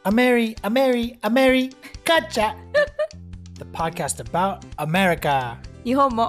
Gotcha! The podcast about America. 日本も。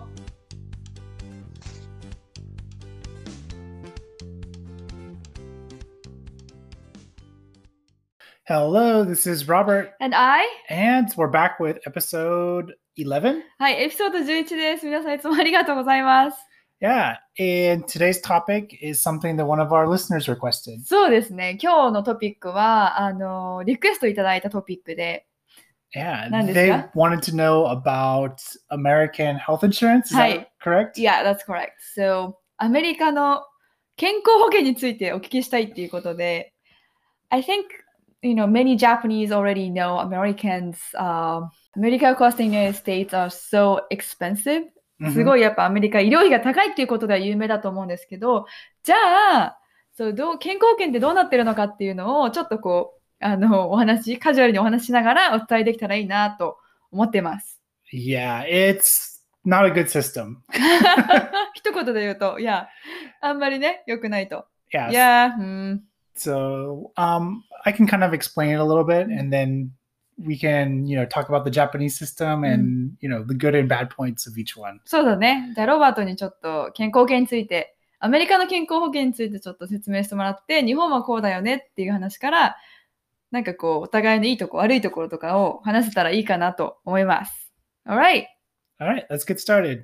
Hello, this is Robert, And I? and we're back with episode 11. はい、エピソード11です。皆さんいつもありがとうございます。 Yeah, and today's topic is something that one of our listeners requested. そうですね。今日のトピックは、リクエストいただいたトピックで、 Yeah, 何ですか？ they wanted to know about American health insurance. Is はい。 that correct? Yeah, that's correct. So, アメリカの健康保険についてお聞きしたいっていうことで、I think, many Japanese already know medical costs in the United States are so expensive. すごいやっぱアメリカ医療費が高いっていうことでは有名だと思うんですけど、じゃあ、健康保険ってどうなってるのかっていうのをちょっとカジュアルにお話ししながらお伝えできたらいいなと思ってます。 Yeah, it's not a good system. 一言で言うと、あんまりね、良くないと。 Yes. So, I can kind of explain it a little bit, and then we can, talk about the Japanese system and, the good and bad points of each one. そうだね。じゃあ、ロバートにちょっと健康保険について、アメリカの健康保険についてちょっと説明してもらって、日本はこうだよねっていう話から、なんかお互いのいいとこ、悪いところとかを話せたらいいかなと思います。Alright. Alright, let's get started.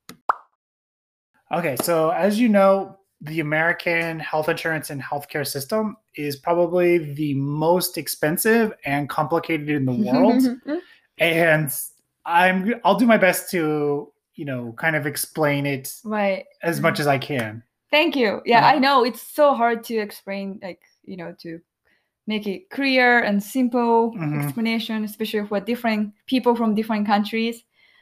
Okay, so as you know, the American health insurance and healthcare system is probably the most expensive and complicated in the world. And I'll do my best to, kind of explain it as much as I can. Thank you. Yeah, I know it's so hard to explain, to make it clear and simple explanation, especially for different people from different countries.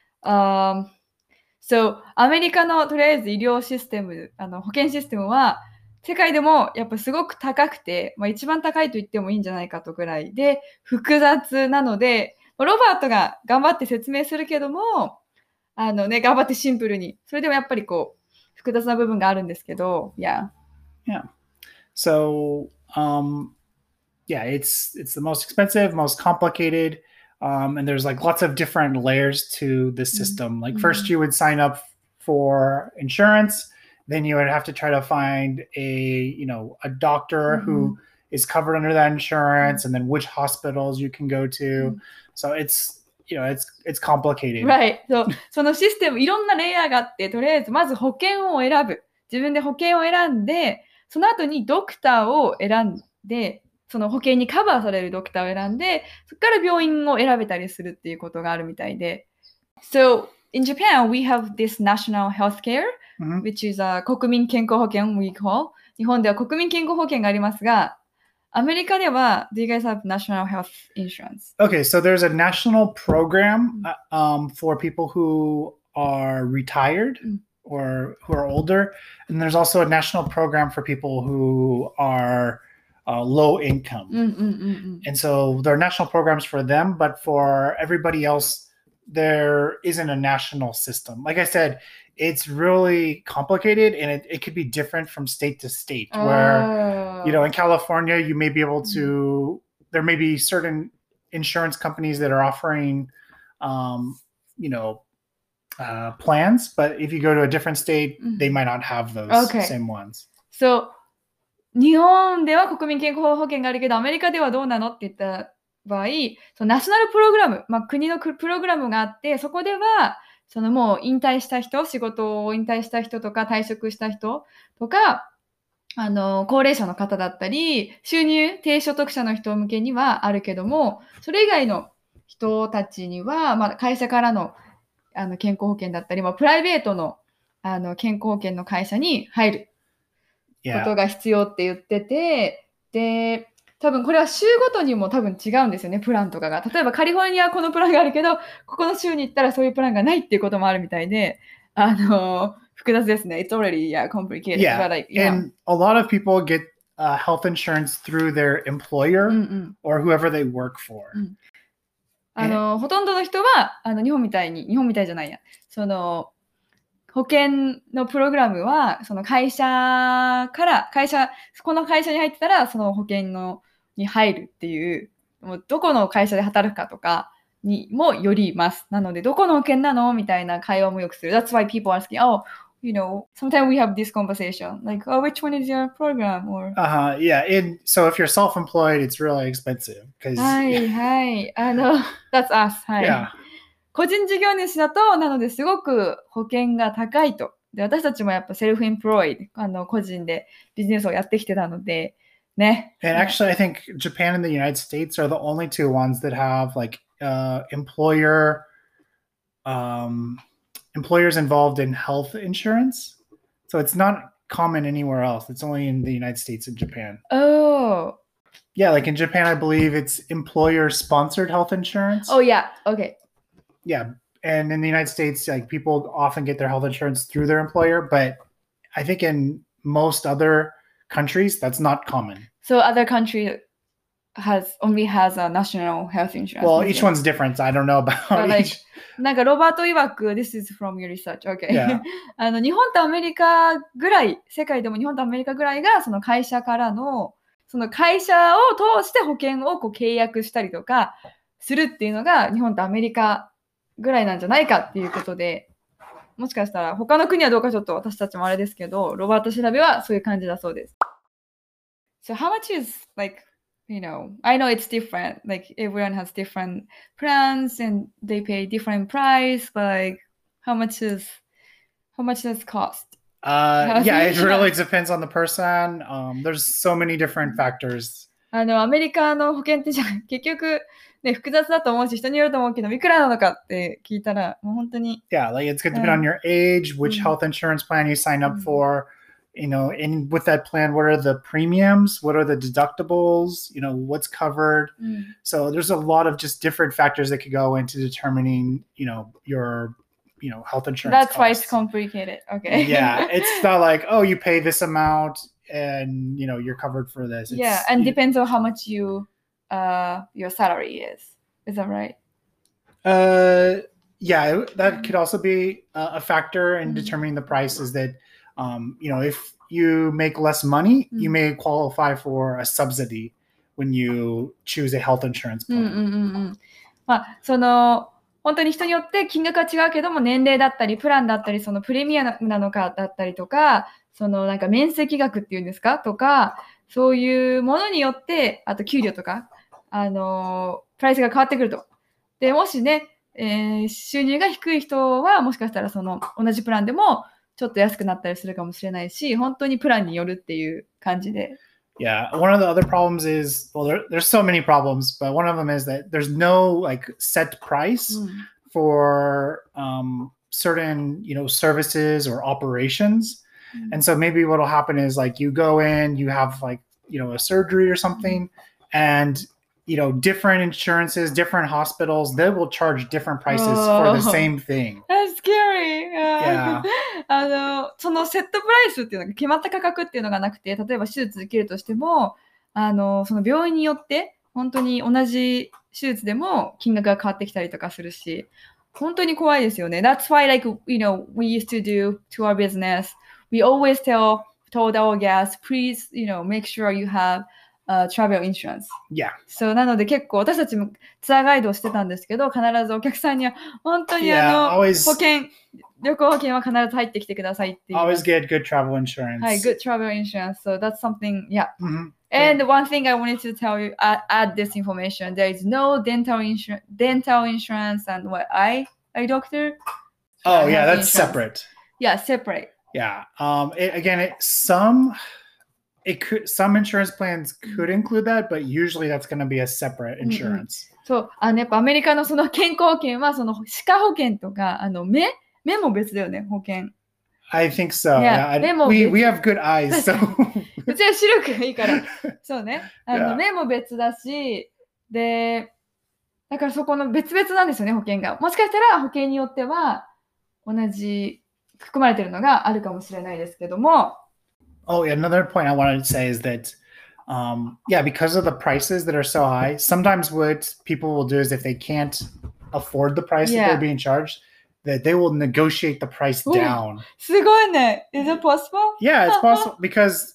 So, アメリカのとりあえず医療システム、保険システムは世界でもやっぱすごく高くて、一番高いと言ってもいいんじゃないかとぐらいで複雑なので、ロバートが頑張って説明するけども、頑張ってシンプルに、それでもやっぱり複雑な部分があるんですけど、 Yeah. So, it's the most expensive, most complicated. And there's lots of different layers to the system. First you would sign up for insurance, then you would have to try to find a doctor who is covered under that insurance, and then which hospitals you can go to. So it's complicated. Right. そのシステムいろんなレイヤーがあって、とりあえずまず保険を選ぶ。自分で保険を選んで、その後にドクターを選んで、その保険にカバーされるドクターを選んで、そこから病院を選べたりするっていうことがあるみたいで。So, in Japan, we have this national healthcare, which is a 国民健康保険 we call. 日本では国民健康保険がありますが、アメリカでは、do you guys have national health insurance? Okay, so there's a national program for people who are retired or who are older. And there's also a national program for people who are low income. And so there are national programs for them, but for everybody else, there isn't a national system. Like I said, it's really complicated, and it could be different from state to state. Where, in California, you may be able to, there may be certain insurance companies that are offering, plans, but if you go to a different state, they might not have those same ones. So, 日本では国民健康保険があるけど、アメリカではどうなのって言った場合、ナショナルプログラム、国のプログラムがあって、そこでは、もう引退した人、仕事を引退した人とか、退職した人とか、高齢者の方だったり、収入低所得者の人向けにはあるけども、それ以外の人たちには、会社からの、健康保険だったり、プライベートの、健康保険の会社に入る。ことが必要って言ってて、で、多分これは州ごとにも多分違うんですよね、プランとかが。例えばカリフォルニアはこのプランがあるけど、ここの州に行ったらそういうプランがないっていうこともあるみたいで、複雑ですね。It's already, complicated. Yeah, and a lot of people get health insurance through their employer or whoever they work for. ほとんどの人は、日本みたいじゃないや。保険のプログラムは、その会社から、この会社に入ってたら、その保険に入るっていうもうどこの会社で働くかとかにもよります。なので、どこの保険なのみたいな会話もよくする。That's why people are asking, oh, sometimes we have this conversation, like, oh, which one is your program? Or Yeah. So if you're self-employed, it's really expensive because はいはい。That's us. はい。 yeah. 個人事業主だと、なのですごく保険が高いと。で、私たちもやっぱセルフエンプロイド、個人でビジネスをやってきてたので、ね。 And actually, I think Japan and the United States are the only two ones that have like employers involved in health insurance. So it's not common anywhere else. It's only in the United States and Japan. Oh. Yeah, like in Japan, I believe it's employer-sponsored health insurance. Oh, yeah. Okay. Yeah. And in the United States, like people often get their health insurance through their employer, but I think in most other countries, that's not common. So other country only has a national health insurance. Well, each one's different. I don't know about each. なんかロバート曰く、This is from your research. Okay. Yeah. 日本とアメリカぐらい、世界でも日本とアメリカぐらいが、その会社からの、その会社を通して保険を契約したりとかするっていうのが、日本とアメリカぐらいなんじゃないかっていうことで、もしかしたら他の国はどうかちょっと私たちもあれですけど、ロバート調べはそういう感じだそうです。So how much is I know it's different. Like everyone has different plans and they pay different price. But how much does cost? Yeah, it really depends on the person. There's so many different factors. アメリカの保険ってじゃ結局ね複雑だと思うし人によると思うけどいくらなのかって聞いたらもう本当に Yeah, like it's going to depend on your age, which health insurance plan you sign up for. And with that plan, what are the premiums? What are the deductibles? What's covered? So there's a lot of just different factors that could go into determining, your, health insurance. That's costs. why it's complicated. Okay. Yeah, it's not like, oh, you pay this amount and, you're covered for this. And depends on how much your salary is. Is that right? Yeah, that could also be a factor in determining the price is that, if you make less money, you may qualify for a subsidy when you choose a health insurance plan. まあ、その本当に人によって金額は違うけども年齢だったりプランだったりそのプレミアムなのかだったりとかそのなんか面積額っていうんですかとかそういうものによってあと給料とかプライスが変わってくると。でもしね、収入が低い人はもしかしたらその同じプランでもちょっと安くなったりするかもしれないし、本当にプランによるっていう感じで。 Yeah, one of the other problems is, there's so many problems, but one of them is that there's no set price for certain, services or operations. And so maybe what'll happen is you go in, you have a surgery or something, and different insurances, different hospitals, they will charge different prices for the same thing. That's scary. Yeah. そのセットプライスっていうのが決まった価格っていうのがなくて、例えば手術受けるとしても、その病院によって本当に同じ手術でも金額が変わってきたりとかするし、本当に怖いですよね。That's why we used to do to our business. We always told our guests, please, make sure you have travel insurance. Yeah. So なので結構私たちもツアーガイドをしてたんですけど、必ずお客さんには本当に旅行保険は必ず入ってきてくださいっていう。 Always get good travel insurance. はい、good travel insurance. So that's something, yeah. And one thing I wanted to tell you, add this information. There is no dental insurance and eye doctor. Oh yeah, that's separate. Yeah, separate. Yeah. Some insurance plans could include that, but usually that's going to be a separate insurance. そう、やっぱアメリカのその健康保険はその歯科保険とか目も別だよね保険。 I think so. Yeah. We have good eyes, so. うちは視力がいいから。そうね。目も別だし、で、だからそこの別々なんですよね保険が。もしかしたら保険によっては同じ含まれてるのがあるかもしれないですけども。 Oh, yeah. Another point I wanted to say is that, because of the prices that are so high, sometimes what people will do is if they can't afford the price that they're being charged, that they will negotiate the price down. すごいね. Is it possible? Yeah, it's possible because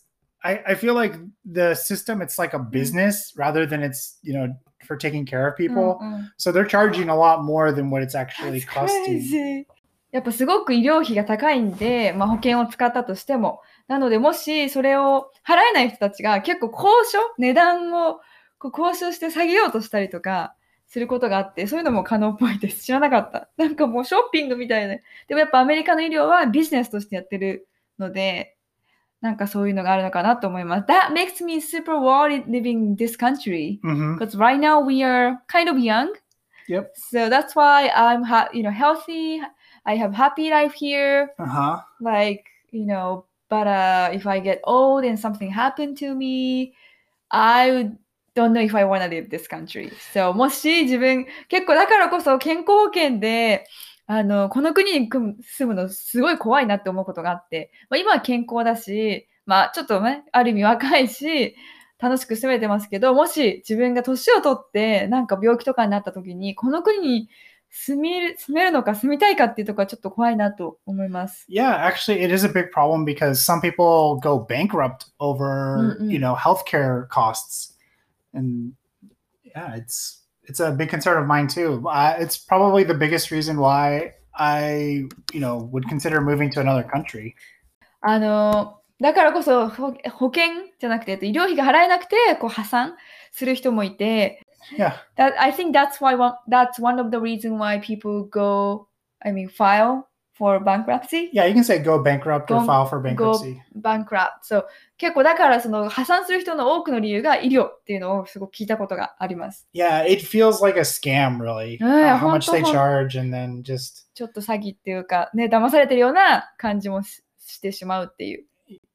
I feel like the system, it's like a business rather than it's, for taking care of people. So they're charging a lot more than what it's actually That's costing. crazy. やっぱすごく医療費が高いんで、保険を使ったとしても。なので、もしそれを払えない人たちが結構値段を交渉して下げようとしたりとかすることがあって、そういうのも可能っぽいです。知らなかった。なんかもうショッピングみたいで。でもやっぱアメリカの医療はビジネスとしてやってるので、なんかそういうのがあるのかなと思います。That makes me super worried living in this country. Because right now we are kind of young. Yep. So that's why I'm healthy. I have happy life here. Like, but if I get old and something happened to me, I don't know if I want to live this country. So もし自分、結構だからこそ健康保険で、この国に住むのすごい怖いなって思うことがあって、今は健康だし、ちょっとね、ある意味若いし、楽しく住めてますけど、もし自分が年を取ってなんか病気とかになった時に、この国に住めるのか住みたいかっていうところはちょっと怖いなと思います。 Yeah, actually it is a big problem because some people go bankrupt over, healthcare costs. And yeah, it's a big concern of mine too. It's probably the biggest reason why I, would consider moving to another country. だからこそ保険じゃなくて、医療費が払えなくて破産する人もいて、 Yeah. I think that's one of the reasons why people file for bankruptcy. Yeah, you can say go bankrupt or file for bankruptcy. Go bankrupt. So 結構だからその破産する人の多くの理由が医療っていうのをすごく聞いたことがあります。 Yeah, it feels like a scam really. How much they charge and then just ちょっと詐欺っていうかね、騙されてるような感じもしてしまうっていう。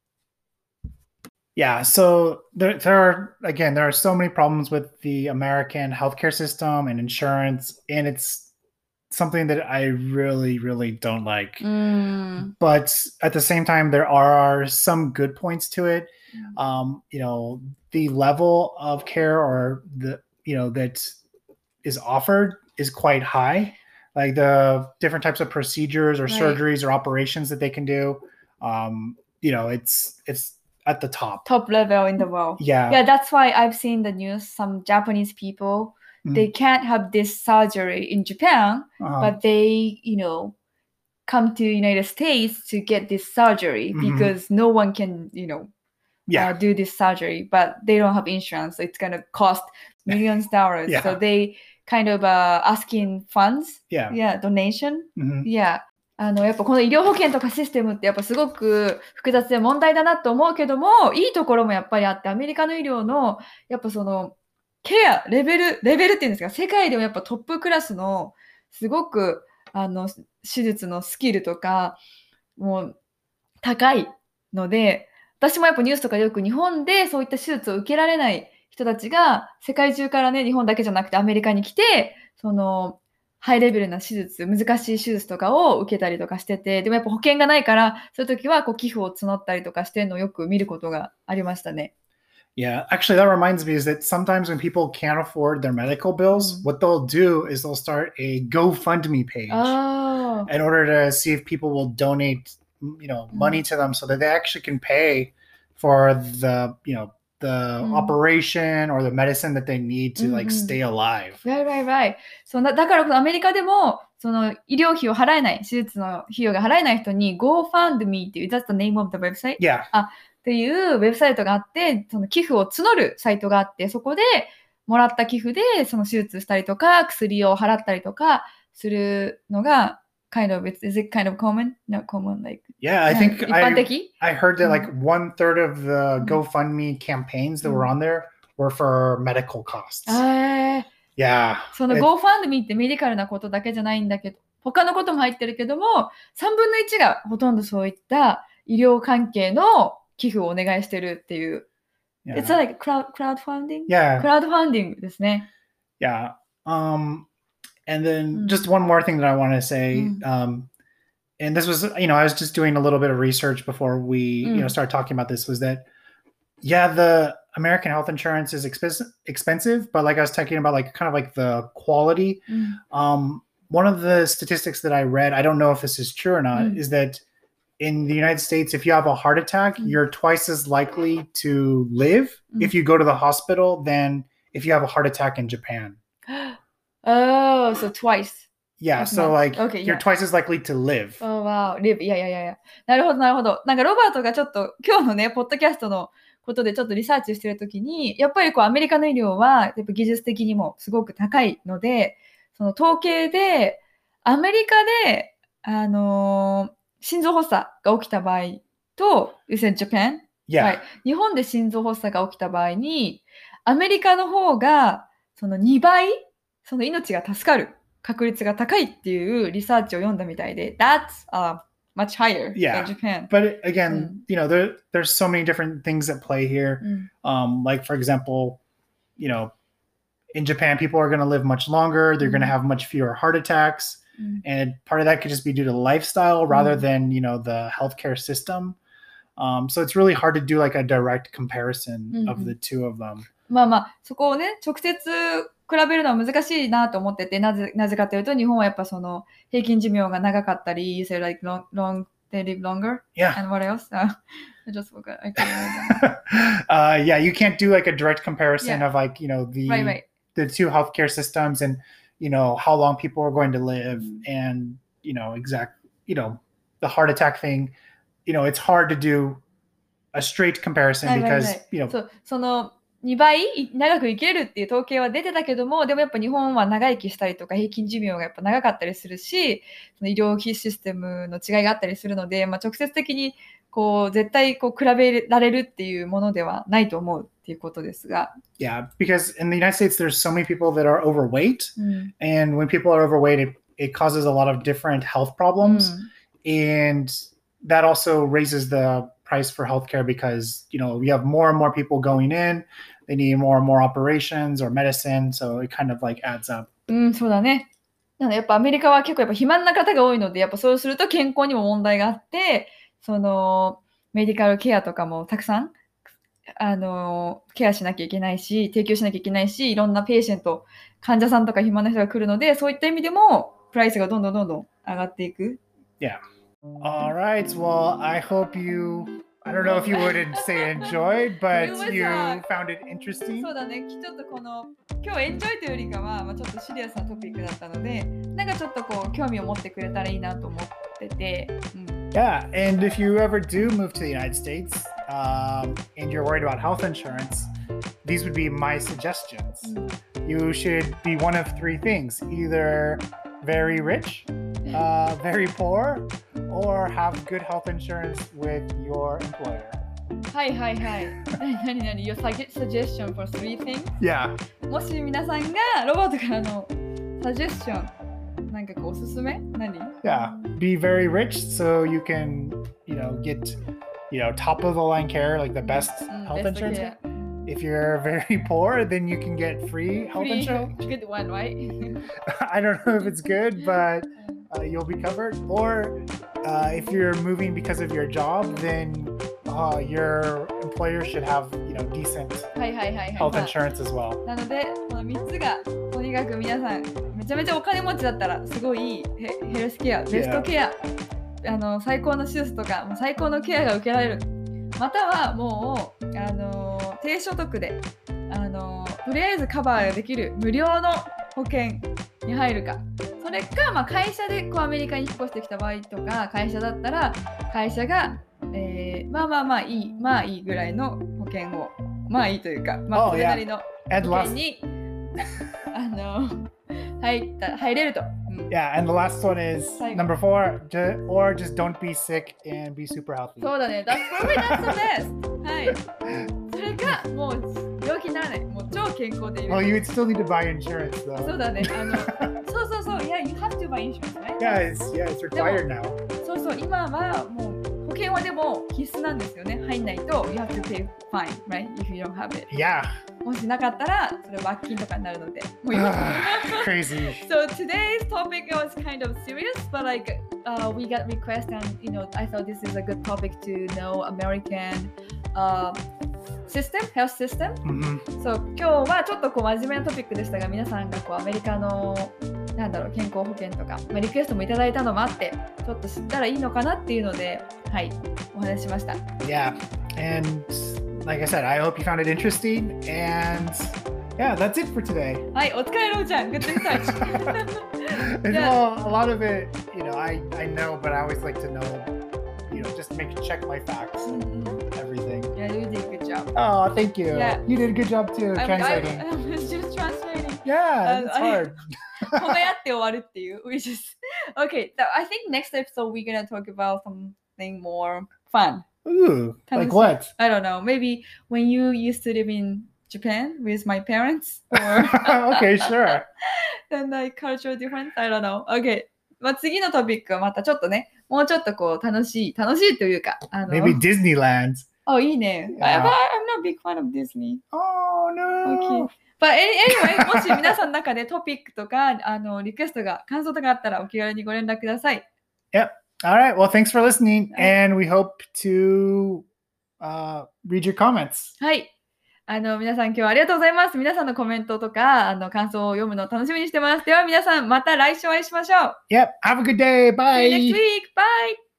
Yeah, so there are so many problems with the American healthcare system and insurance, and it's something that I really, really don't like. But at the same time, there are some good points to it. The level of care or that is offered is quite high. Like the different types of procedures or surgeries or operations that they can do. It's at the top level in the world. Yeah, that's why I've seen the news. Some Japanese people, they can't have this surgery in Japan, but they come to United States to get this surgery because no one can do this surgery, but they don't have insurance, so it's gonna cost millions of dollars. So they kind of asking funds, donation. Yeah. やっぱこの医療保険とかシステムってやっぱすごく複雑で問題だなと思うけども、いいところもやっぱりあって、アメリカの医療のやっぱそのケア、レベルっていうんですか、世界でもやっぱトップクラスのすごく手術のスキルとかもう高いので、私もやっぱニュースとかでよく日本でそういった手術を受けられない人たちが世界中からね、日本だけじゃなくてアメリカに来て、そのハイレベルな手術、難しい手術とかを受けたりとかしてて、でもやっぱ保険がないから、そういう時は寄付を募ったりとかしてるのをよく見ることがありましたね。 Yeah, actually that reminds me is that sometimes when people can't afford their medical bills, what they'll do is they'll start a GoFundMe page in order to see if people will donate, money to them so that they actually can pay for the operation or the medicine that they need to stay alive. Right. だからアメリカでもその医療費を払えない、手術の費用が払えない人に GoFundMe っていう、that's the name of the website? Yeah. っていうウェブサイトがあって、その寄付を募るサイトがあって、そこでもらった寄付でその手術したりとか、薬を払ったりとかするのがis it kind of common? Not common, like. Yeah, I think 一般的? I heard that like 1/3 of the GoFundMe campaigns that were on there were for medical costs. Yeah. その GoFundMe ってメディカルなことだけじゃないんだけど、他のことも入ってるけども、3分の1がほとんどそういった医療関係の寄付をお願いしてるっていう。It's like crowdfunding? Yeah. Crowdfunding ですね。 Yeah. And then just one more thing that I want to say, and this was, I was just doing a little bit of research before we, started talking about this, was that, the American health insurance is expensive, but like I was talking about, like kind of like the quality. One of the statistics that I read, I don't know if this is true or not, is that in the United States, if you have a heart attack, you're twice as likely to live if you go to the hospital than if you have a heart attack in Japan. Oh, so twice. Yeah, so like you're twice as likely to live. Oh, wow. live.いやいやいやいや。なるほど、なるほど。なんかロバートがちょっと今日のね、ポッドキャストのことでちょっとリサーチしてるときに、やっぱりこうアメリカの医療はやっぱ技術的にもすごく高いので、その統計でアメリカで、心臓発作が起きた場合と、You said Japan? Yeah. はい。日本で心臓発作が起きた場合に、アメリカの方がその2倍、その命が助かる確率が高いっていうリサーチを読んだみたいで、That's much higher Yeah. than Japan. But again, you know, there's so many different things at play here. Like, for example, you know, in Japan, people are going to live much longer. They're going to have much fewer heart attacks. And part of that could just be due to lifestyle rather than, you know, the healthcare system. So it's really hard to do like a direct comparison of the two of them. まあまあ、そこをね、直接比べるのは難しいなと思ってて、なぜかというと、日本はやっぱその平均寿命が長かったり、You say like long, they live longer? Yeah. And what else? I just forgot. I can't remember. Yeah, you can't do like a direct comparison of like, you know, the two healthcare systems and, you know, how long people are going to live and, you know, the heart attack thing, you know, it's hard to do a straight comparison because, you know. その2倍長く生きれるっていう統計は出てたけども、でもやっぱ日本は長生きしたりとか平均寿命がやっぱ長かったりするし、その医療費システムの違いがあったりするので、まあ、直接的にこう絶対こう比べられるっていうものではないと思うっていうことですが。 Yeah, because in the United States there's so many people that are overweight, and when people are overweight, it causes a lot of different health problems, and that also raises the price for healthcare because, you know, you have more and more people going in. They need more and more operations or medicine, so it kind of like adds up. そうだね。なのでやっぱアメリカは結構やっぱ肥満な方が多いので、やっぱそうすると健康にも問題があって、そのメディカルケアとかもたくさんケアしなきゃいけないし、提供しなきゃいけないし、いろんなペーシェント、患者さんとか肥満な人が来るので、そういった意味でもプライスがどんどん上がっていく。 Yeah. All right. Well, I hope I don't know if you would say enjoyed, but you found it interesting. そうだね。ちょっとこの今日エンジョイというよりかは、ちょっとシリアスなトピックだったので、なんかちょっとこう興味を持ってくれたらいいなと思ってて。 Yeah, and if you ever do move to the United States, and you're worried about health insurance, these would be my suggestions. You should be one of three things: either very rich, very poor, or have good health insurance with your employer. はいはいはい。何 Your suggestion for three things? Yeah. もし皆さんがロバートからのサジェスションなんかこうおすすめ何 Yeah. Be very rich so you can, you know, get, you know, top of the line care, like the best health insurance. If you're very poor, then you can get free health insurance. Good one, right? I don't know if it's good, but you'll be covered. Or if you're moving because of your job, then your employer should have, you know, decent health insurance as well. なので、この3つがとにかく皆さんめちゃめちゃお金持ちだったらすごいいいヘルスケア、ベストケア、最高の手術とかもう最高のケアが受けられる。またはもう低所得でとりあえずカバーできる無料の保険に入るか、それか、会社でこうアメリカに引っ越してきた場合とか、会社だったら会社が、いいぐらいの保険をいいというか、それなりの保険に入れると。 Yeah, and the last one is number 4, or just don't be sick and be super healthy. そうだね。That's the best. はい。それかもう病気にならない。もう超健康でいる。 Well, you would still need to buy insurance though. そうだね。そう。Yeah, you have to buy insurance, right? Yeah, it's required now. そう。今はもう保険はでも必須なんですよね。入んないと you have to pay fine, right? If you don't have it. Yeah. もしなかったらそれ罰金とかになるので。 Crazy. So today's topic was kind of serious, but like we got requests and I thought this is a good topic to know American health system. そう、今日はちょっとこう真面目なトピックでしたが、皆さんがこうアメリカのなんだろう、健康保険とか、リクエストもいただいたのもあって、ちょっと知ったらいいのかなっていうので、はい、お話ししました。 Yeah, and like I said, I hope you found it interesting. And yeah, that's it for today. はい、お疲れろうちゃん、Good research. And well, a lot of it, I know, but I always like to know, just check my facts and everything. Yeah, you did a good job. Oh, thank you. Yeah. You did a good job too, translating. I was just translating. Yeah, it's hard. 褒め合って終わるっていう。We just okay. So I think next episode we're gonna talk about something more fun. Ooh, like what? I don't know. Maybe when you used to live in Japan with my parents, or Okay, sure. and like cultural difference. I don't know. Okay. 次のトピックはまたちょっとね、もうちょっとこう楽しいというか、 Maybe Disneyland. いいね。 Yeah. But I'm not a big fan of Disney. Oh no. Okay. But anyway, もし皆さんの中でトピックとかリクエストが感想とかあったらお気軽にご連絡ください。 Yep. All right. Well, thanks for listening, and we hope to read your comments. はい。皆さん今日はありがとうございます。皆さんのコメントとか感想を読むのを楽しみにしてます。では皆さんまた来週お会いしましょう。 Yep. Have a good day. Bye. See you next week. Bye.